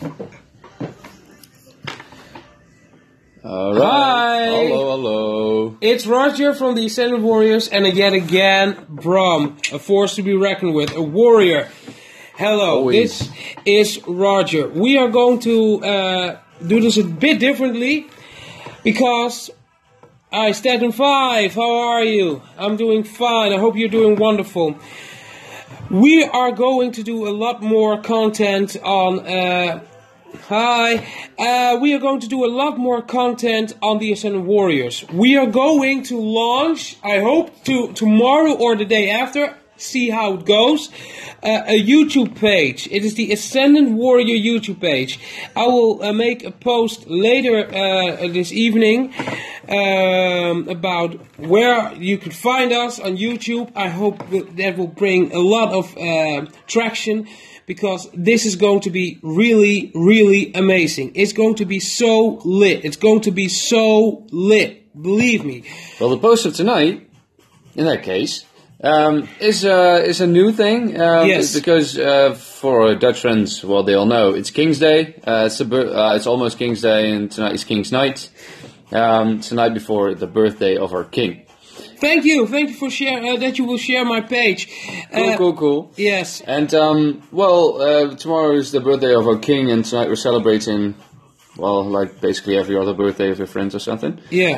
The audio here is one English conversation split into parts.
Alright. Hi! Hello. It's Roger from the Ascended Warriors, and yet again, Bram, a force to be reckoned with, a warrior. Hello, Always. This is Roger. We are going to do this a bit differently, because I stand in 5. How are you? I'm doing fine. I hope you're doing wonderful. We are going to do a lot more content on... we are going to do a lot more content on the Ascended Warriors. We are going to launch, I hope tomorrow or the day after, see how it goes, a YouTube page. It is the Ascended Warrior YouTube page. I will make a post later this evening about where you can find us on YouTube. I hope that will bring a lot of traction, because this is going to be really, really amazing. It's going to be so lit. It's going to be so lit. Believe me. Well, the post of tonight, in that case, is a new thing. Yes. Because for Dutch friends, well, they all know it's King's Day. It's almost King's Day, and tonight is King's Night. It's the night before the birthday of our king. Thank you for share that you will share my page. Cool. Yes. And tomorrow is the birthday of our king, and tonight we're celebrating, well, like basically every other birthday of your friends or something. Yeah.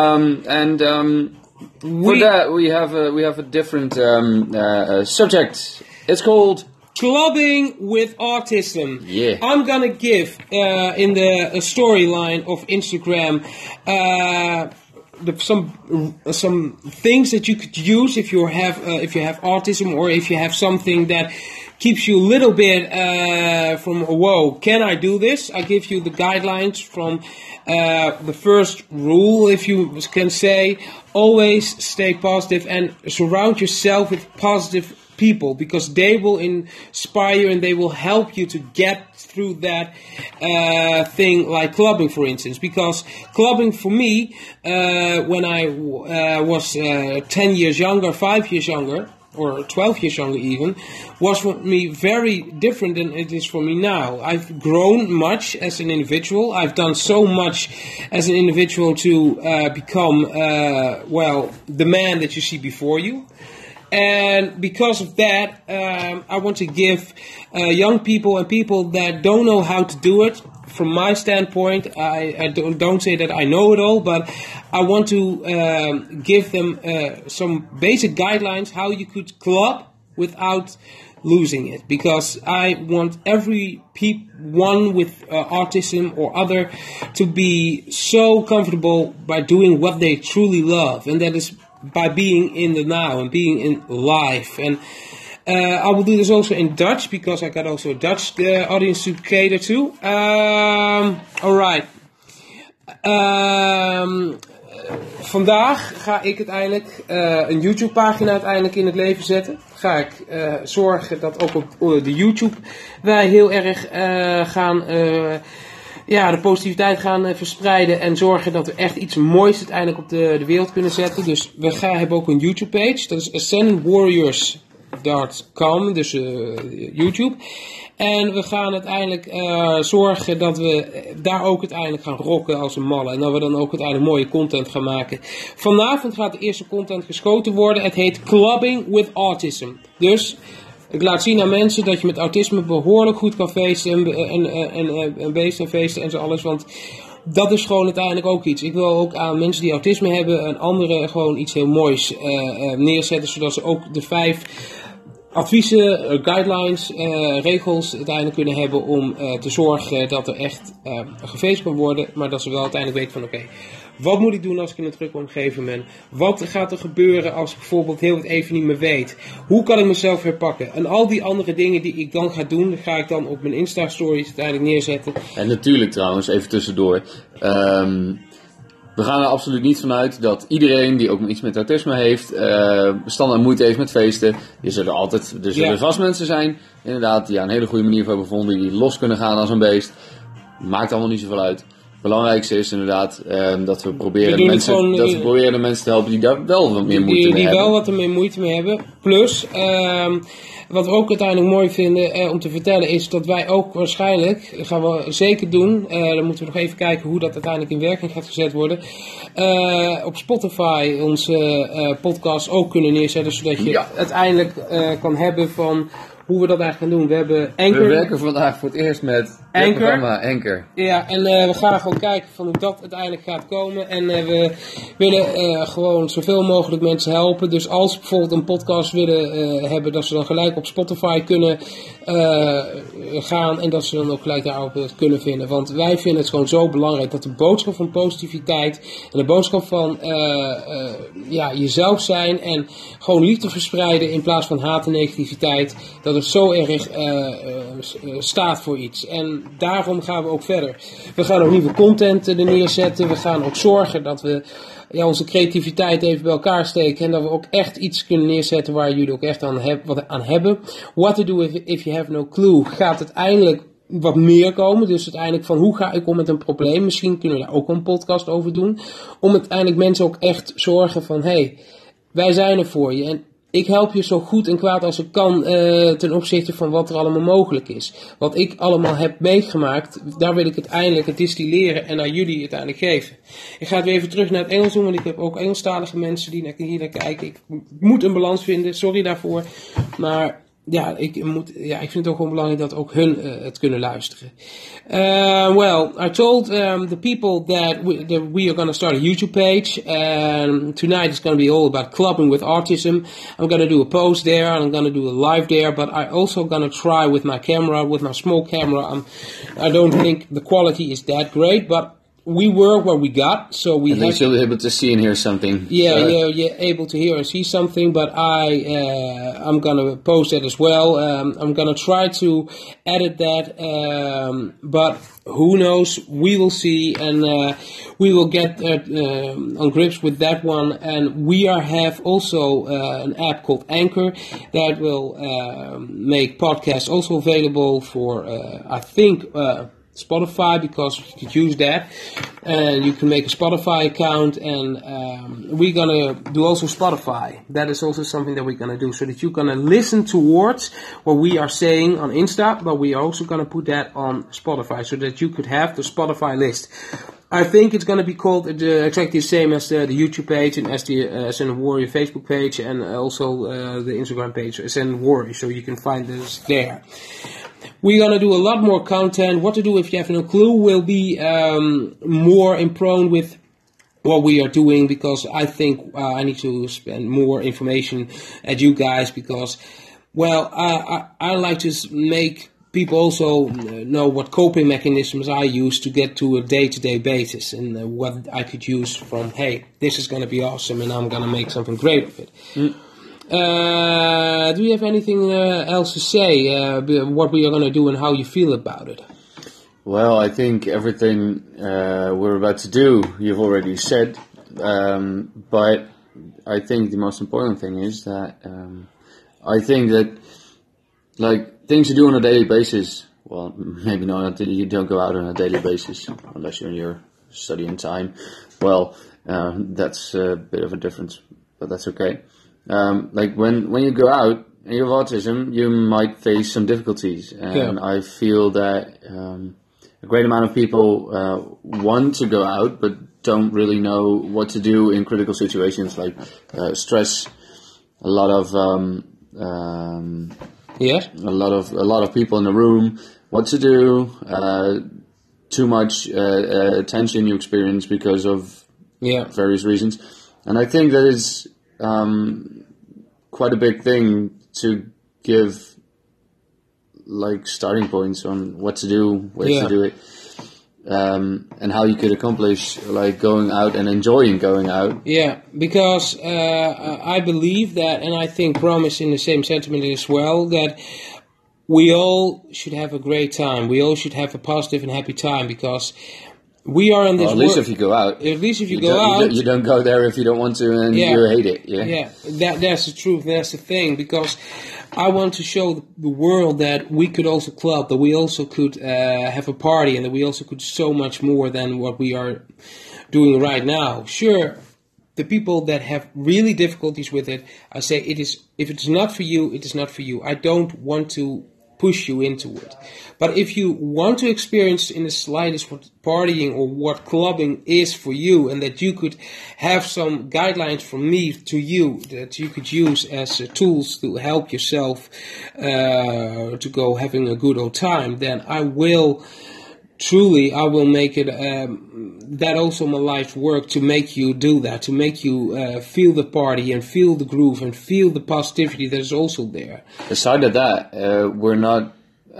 For that we have a different subject. It's called Clubbing with Autism. Yeah. I'm gonna give in the storyline of Instagram some things that you could use if you have autism, or if you have something that keeps you a little bit from whoa, can I do this? I give you the guidelines from the first rule, if you can say. Always stay positive and surround yourself with positive people, because they will inspire and they will help you to get through that thing, like clubbing, for instance. Because clubbing for me, when I was 10 years younger, 5 years younger, or 12 years younger even, was for me very different than it is for me now. I've grown much as an individual. I've done so much as an individual to become, the man that you see before you. And because of that, I want to give young people and people that don't know how to do it, from my standpoint, I don't say that I know it all, but I want to give them some basic guidelines how you could club without losing it. Because I want one with autism or other to be so comfortable by doing what they truly love, and that is by being in the now and being in life. And I will do this also in Dutch, because I got also a Dutch audience to cater to. Alright. Vandaag ga ik uiteindelijk een YouTube pagina uiteindelijk in het leven zetten. Ga ik zorgen dat ook op de YouTube wij heel erg gaan... de positiviteit gaan verspreiden en zorgen dat we echt iets moois uiteindelijk op de wereld kunnen zetten. Dus we hebben ook een YouTube page, dat is ascendedwarriors.com, dus YouTube. En we gaan uiteindelijk zorgen dat we daar ook uiteindelijk gaan rocken als een malle. En dat we dan ook uiteindelijk mooie content gaan maken. Vanavond gaat de eerste content geschoten worden. Het heet Clubbing with Autism. Dus... ik laat zien aan mensen dat je met autisme behoorlijk goed kan feesten en beesten en feesten en zo alles. Want dat is gewoon uiteindelijk ook iets. Ik wil ook aan mensen die autisme hebben en anderen gewoon iets heel moois neerzetten. Zodat ze ook de 5 adviezen, guidelines, regels uiteindelijk kunnen hebben om te zorgen dat er echt gefeest kan worden. Maar dat ze wel uiteindelijk weten van oké, wat moet ik doen als ik in een drukke omgeving ben? Wat gaat er gebeuren als ik bijvoorbeeld heel het even niet meer weet? Hoe kan ik mezelf herpakken? En al die andere dingen die ik dan ga doen, ga ik dan op mijn Insta-stories uiteindelijk neerzetten. En natuurlijk trouwens, even tussendoor. We gaan er absoluut niet vanuit dat iedereen die ook iets met autisme heeft, standaard moeite heeft met feesten. Er zullen vast mensen zijn, inderdaad, die aan een hele goede manier voor hebben gevonden, die los kunnen gaan als een beest. Maakt allemaal niet zoveel uit. belangrijkste is inderdaad dat we proberen de mensen te helpen die daar wel wat meer moeite mee hebben. Die wel wat er meer moeite mee hebben. Plus, wat we ook uiteindelijk mooi vinden om te vertellen is dat wij ook waarschijnlijk, dat gaan we zeker doen, dan moeten we nog even kijken hoe dat uiteindelijk in werking gaat gezet worden, op Spotify onze podcast ook kunnen neerzetten, zodat je uiteindelijk kan hebben van hoe we dat eigenlijk gaan doen. We hebben Anchor. We werken vandaag voor het eerst met het programma Anchor. Ja, en we gaan gewoon kijken van hoe dat uiteindelijk gaat komen. En we willen gewoon zoveel mogelijk mensen helpen. Dus als we bijvoorbeeld een podcast willen hebben, dat ze dan gelijk op Spotify kunnen gaan. En dat ze dan ook gelijk daarop kunnen vinden. Want wij vinden het gewoon zo belangrijk dat de boodschap van positiviteit en de boodschap van jezelf zijn en gewoon liefde verspreiden in plaats van haat en negativiteit, dat het zo erg staat voor iets. En daarom gaan we ook verder. We gaan ook nieuwe content er neerzetten. We gaan ook zorgen dat we onze creativiteit even bij elkaar steken. En dat we ook echt iets kunnen neerzetten waar jullie ook echt wat aan hebben. What to do if you have no clue gaat uiteindelijk wat meer komen. Dus uiteindelijk van hoe ga ik om met een probleem. Misschien kunnen we daar ook een podcast over doen. Om uiteindelijk mensen ook echt zorgen van hey, wij zijn er voor je. En ik help je zo goed en kwaad als ik kan ten opzichte van wat er allemaal mogelijk is. Wat ik allemaal heb meegemaakt, daar wil ik uiteindelijk het distilleren en aan jullie uiteindelijk geven. Ik ga het weer even terug naar het Engels doen, want ik heb ook Engelstalige mensen die hier naar kijken. Ik moet een balans vinden, sorry daarvoor. Maar ja, ik vind het ook gewoon belangrijk dat ook hun het kunnen luisteren. I told the people that we are going to start a YouTube page. Tonight it's going to be all about clubbing with autism. I'm going to do a post there and I'm going to do a live there. But I also going to try with my camera, with my small camera. I don't think the quality is that great, but we work what we got, so we have. You'll be able to see and hear something. Yeah, you're able to hear and see something. But I'm gonna post that as well. I'm gonna try to edit that, but who knows? We will see, and we will get on grips with that one. And we have also an app called Anchor that will make podcasts also available for I think. Spotify, because you could use that and you can make a Spotify account, and we're gonna do also Spotify. That is also something that we're gonna do, so that you're gonna listen towards what we are saying on Insta, but we are also gonna put that on Spotify so that you could have the Spotify list. I think it's gonna be called exactly the same as the YouTube page and as the SN Warrior Facebook page, and also the Instagram page SN Warrior, so you can find us there. We're going to do a lot more content. What to do if you have no clue will be more in prone with what we are doing, because I think I need to spend more information at you guys, because, well, I like to make people also know what coping mechanisms I use to get to a day-to-day basis, and what I could use from, hey, this is going to be awesome and I'm going to make something great of it. Do you have anything else to say, what we are going to do and how you feel about it? Well, I think everything we're about to do, you've already said, but I think the most important thing is that I think that, like, things you do on a daily basis, well, maybe not, you don't go out on a daily basis, unless you're in your studying time, well, that's a bit of a difference, but that's okay. Like when you go out and you have autism, you might face some difficulties, and I feel that a great amount of people want to go out but don't really know what to do in critical situations, like stress, a lot of a lot of people in the room, what to do, too much tension you experience because of various reasons, and I think that is quite a big thing to give, like, starting points on what to do, ways to do it, and how you could accomplish, like, going out and enjoying going out. Yeah, because I believe that, and I think Bram is in the same sentiment as well, that we all should have a great time. We all should have a positive and happy time, because we are in this. Well, at least if you go out. At least if you go out, you don't go there if you don't want to, and you hate it. Yeah. That's the truth. That's the thing, because I want to show the world that we could also club, that we also could have a party, and that we also could so much more than what we are doing right now. Sure, the people that have really difficulties with it, I say if it's not for you, it is not for you. I don't want to push you into it. But if you want to experience in the slightest what partying or what clubbing is for you, and that you could have some guidelines from me to you that you could use as tools to help yourself to go having a good old time, then I will make it that also my life's work to make you do that, to make you feel the party and feel the groove and feel the positivity that is also there. Aside of that, we're not.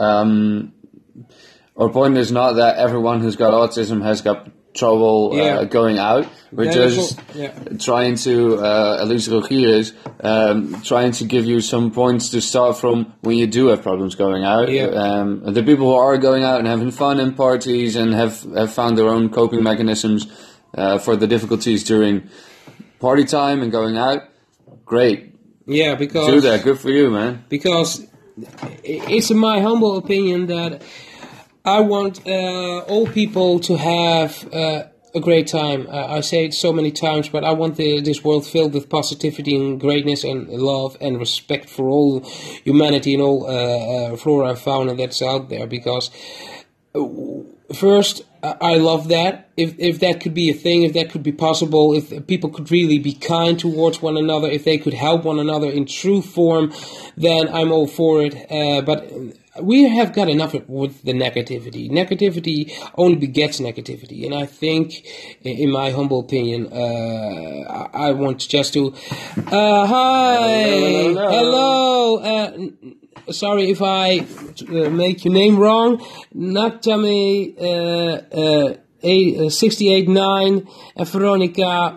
Our point is not that everyone who's got autism has got trouble going out. We're just trying to, at least Rogier is, trying to give you some points to start from when you do have problems going out. The people who are going out and having fun in parties and have found their own coping mechanisms for the difficulties during party time and going out, great. Yeah, because... do that, good for you, man. Because it's in my humble opinion that I want all people to have a great time. I say it so many times, but I want this world filled with positivity and greatness and love and respect for all humanity and all flora and fauna that's out there. Because first, I love that. If that could be a thing, if that could be possible, if people could really be kind towards one another, if they could help one another in true form, then I'm all for it. But we have got enough with the negativity. Negativity only begets negativity. And I think, in my humble opinion, I want just to... hi! Hello! Sorry if I make your name wrong. Natami 689 and Veronica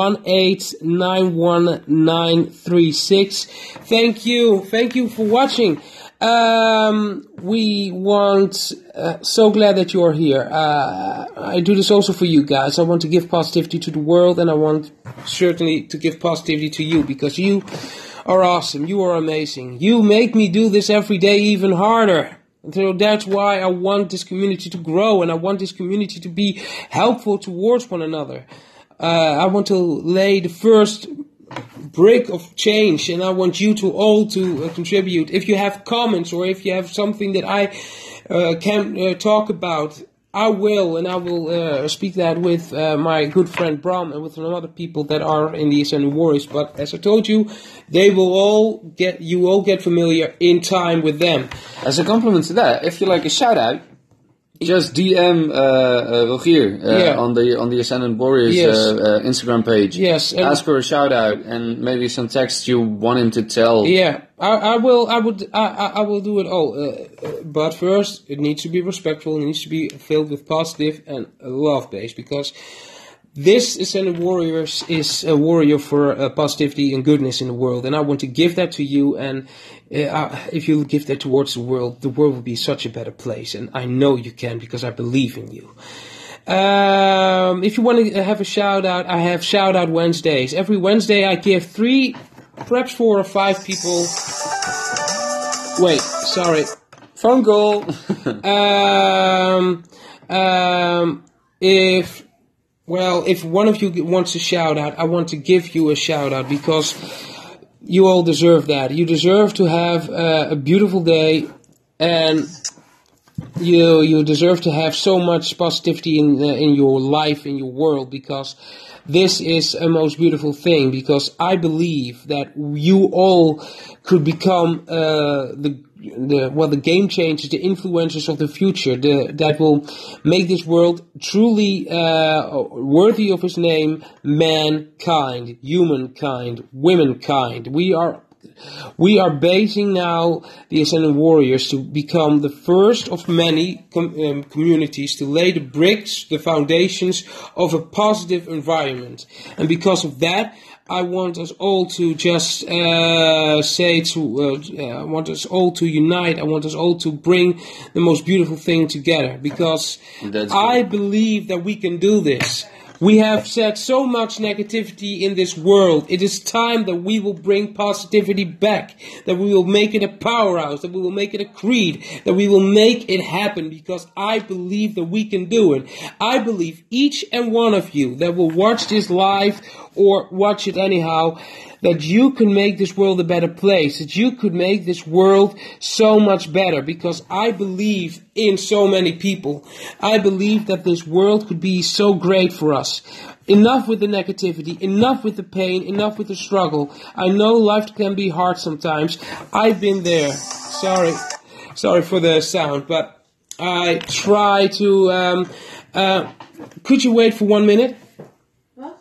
1891936. Thank you for watching. We want, so glad that you're here. I do this also for you guys. I want to give positivity to the world, and I want certainly to give positivity to you, because you are awesome. You are amazing. You make me do this every day even harder. So that's why I want this community to grow, and I want this community to be helpful towards one another. I want to lay the first brick of change, and I want you to all to contribute. If you have comments, or if you have something that I can talk about, I will speak that with my good friend Bram and with some other people that are in the Ascending Warriors. But as I told you, you all get familiar in time with them. As a compliment to that, if you like a shout out, just DM Rogier on the Ascendant Warriors Instagram page. Yes, ask for a shout out and maybe some text you want him to tell. Yeah, I will do it all. But first, it needs to be respectful. It needs to be filled with positive and love based, because this Ascendant Warriors is a warrior for positivity and goodness in the world, and I want to give that to you. And if you give that towards the world will be such a better place. And I know you can, because I believe in you. If you want to have a shout out, I have shout out Wednesdays. Every Wednesday I give 3, perhaps 4 or 5 people. Wait, sorry. Phone call. If one of you wants a shout out, I want to give you a shout out, because you all deserve that. You deserve to have a beautiful day, and you deserve to have so much positivity in your life, in your world, because this is a most beautiful thing. Because I believe that you all could become the game changers, the influencers of the future, that will make this world truly worthy of his name, mankind, humankind, womankind. We are basing now the Ascendant Warriors to become the first of many communities to lay the bricks, the foundations of a positive environment. And because of that, I want us all to just I want us all to unite. I want us all to bring the most beautiful thing together, because I believe that we can do this. We have said so much negativity in this world. It is time that we will bring positivity back, that we will make it a powerhouse, that we will make it a creed, that we will make it happen, because I believe that we can do it. I believe each and one of you that will watch this live or watch it anyhow, that you can make this world a better place, that you could make this world so much better, because I believe in so many people. I believe that this world could be so great for us. Enough with the negativity, enough with the pain, enough with the struggle. I know life can be hard sometimes. I've been there. Sorry for the sound, but I try to... could you wait for 1 minute? Wat?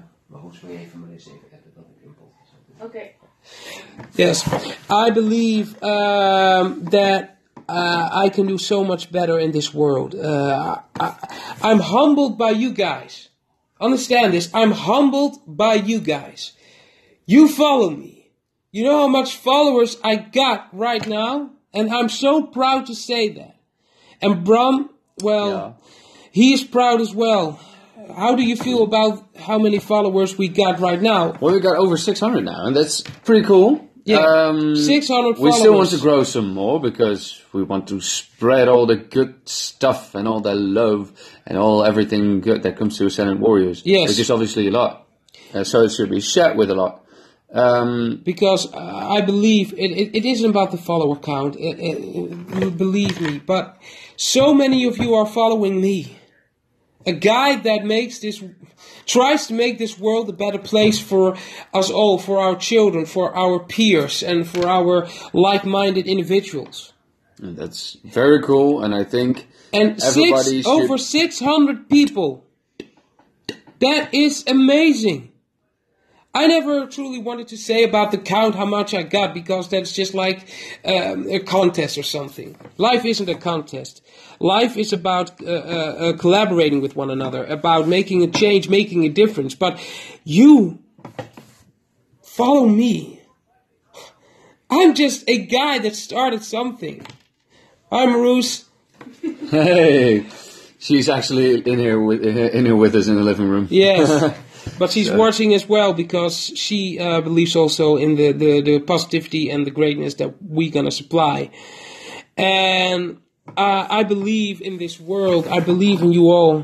Okay. Yes, I believe that I can do so much better in this world. I'm humbled by you guys. Understand this. I'm humbled by you guys. You follow me. You know how much followers I got right now? And I'm so proud to say that. And Bram, well, he is proud as well. How do you feel about how many followers we got right now? Well, we got over 600 now, and that's pretty cool. Yeah, 600 followers. We still want to grow some more, because we want to spread all the good stuff and all the love and everything good that comes to Ascendant Warriors. Yes. Which is obviously a lot. So it should be shared with a lot. Because I believe it isn't about the follower count. Believe me. But so many of you are following me. A guy that tries to make this world a better place for us all, for our children, for our peers, and for our like-minded individuals. And that's very cool, and I think over 600 people. That is amazing. I never truly wanted to say about the count how much I got, because that's just like a contest or something. Life isn't a contest. Life is about collaborating with one another, about making a change, making a difference. But you follow me. I'm just a guy that started something. Hi, Marus. Hey, she's actually in here with us in the living room. Yes. But she's watching as well, because she believes also in the positivity and the greatness that we're going to supply. And I believe in this world. I believe in you all.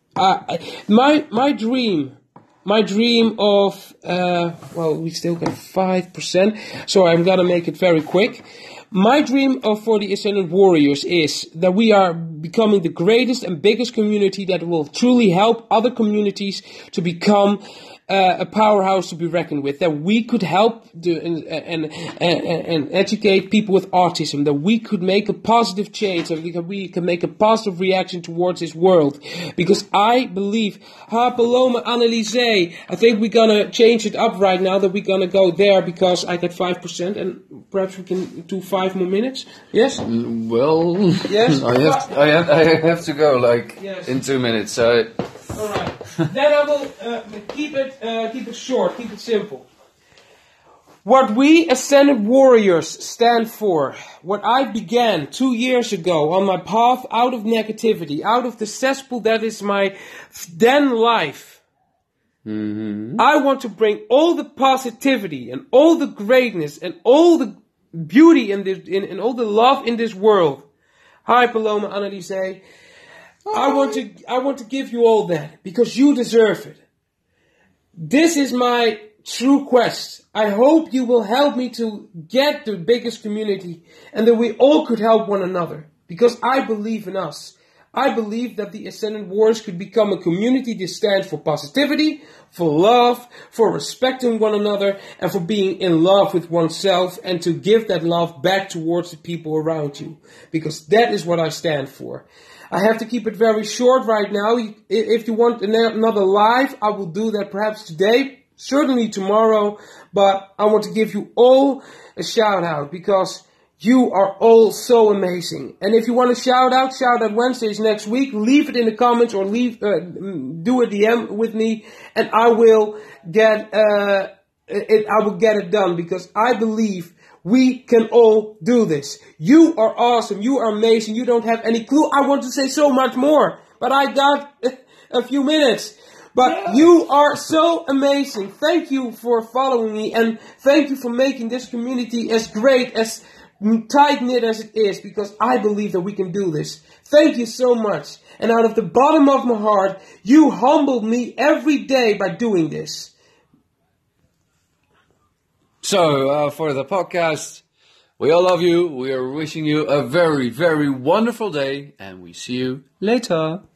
My dream of, we still got 5%, so I'm going to make it very quick. My dream for the Ascendant Warriors is that we are becoming the greatest and biggest community that will truly help other communities to become a powerhouse to be reckoned with. That we could help and educate people with autism. That we could make a positive change. That we can make a positive reaction towards this world. Because I believe, Paloma, Anneliese, I think we're gonna change it up right now. That we're gonna go there, because I got 5%, and perhaps we can do 5 more minutes. Yes. Well, yes. I have to go in 2 minutes. So. All right. Then I will keep it short, keep it simple. What we Ascended Warriors stand for, what I began 2 years ago on my path out of negativity, out of the cesspool that is my then life. Mm-hmm. I want to bring all the positivity and all the greatness and all the beauty and all the love in this world. Hi, Paloma, Anneliese. I want to give you all that, because you deserve it. This is my true quest. I hope you will help me to get the biggest community, and that we all could help one another, because I believe in us. I believe that the Ascendant Warriors could become a community that stands for positivity, for love, for respecting one another, and for being in love with oneself, and to give that love back towards the people around you, because that is what I stand for. I have to keep it very short right now. If you want another live, I will do that perhaps today, certainly tomorrow. But I want to give you all a shout out, because You are all so amazing. And if you want to shout out Wednesdays next week. Leave it in the comments or do a DM with me, and I will get it done, because I believe we can all do this. You are awesome. You are amazing. You don't have any clue. I want to say so much more, but I got a few minutes. But you are so amazing. Thank you for following me, and thank you for making this community as great, as tight-knit as it is, because I believe that we can do this. Thank you so much. And out of the bottom of my heart, you humbled me every day by doing this. So, for the podcast, we all love you. We are wishing you a very, very wonderful day, and we see you later.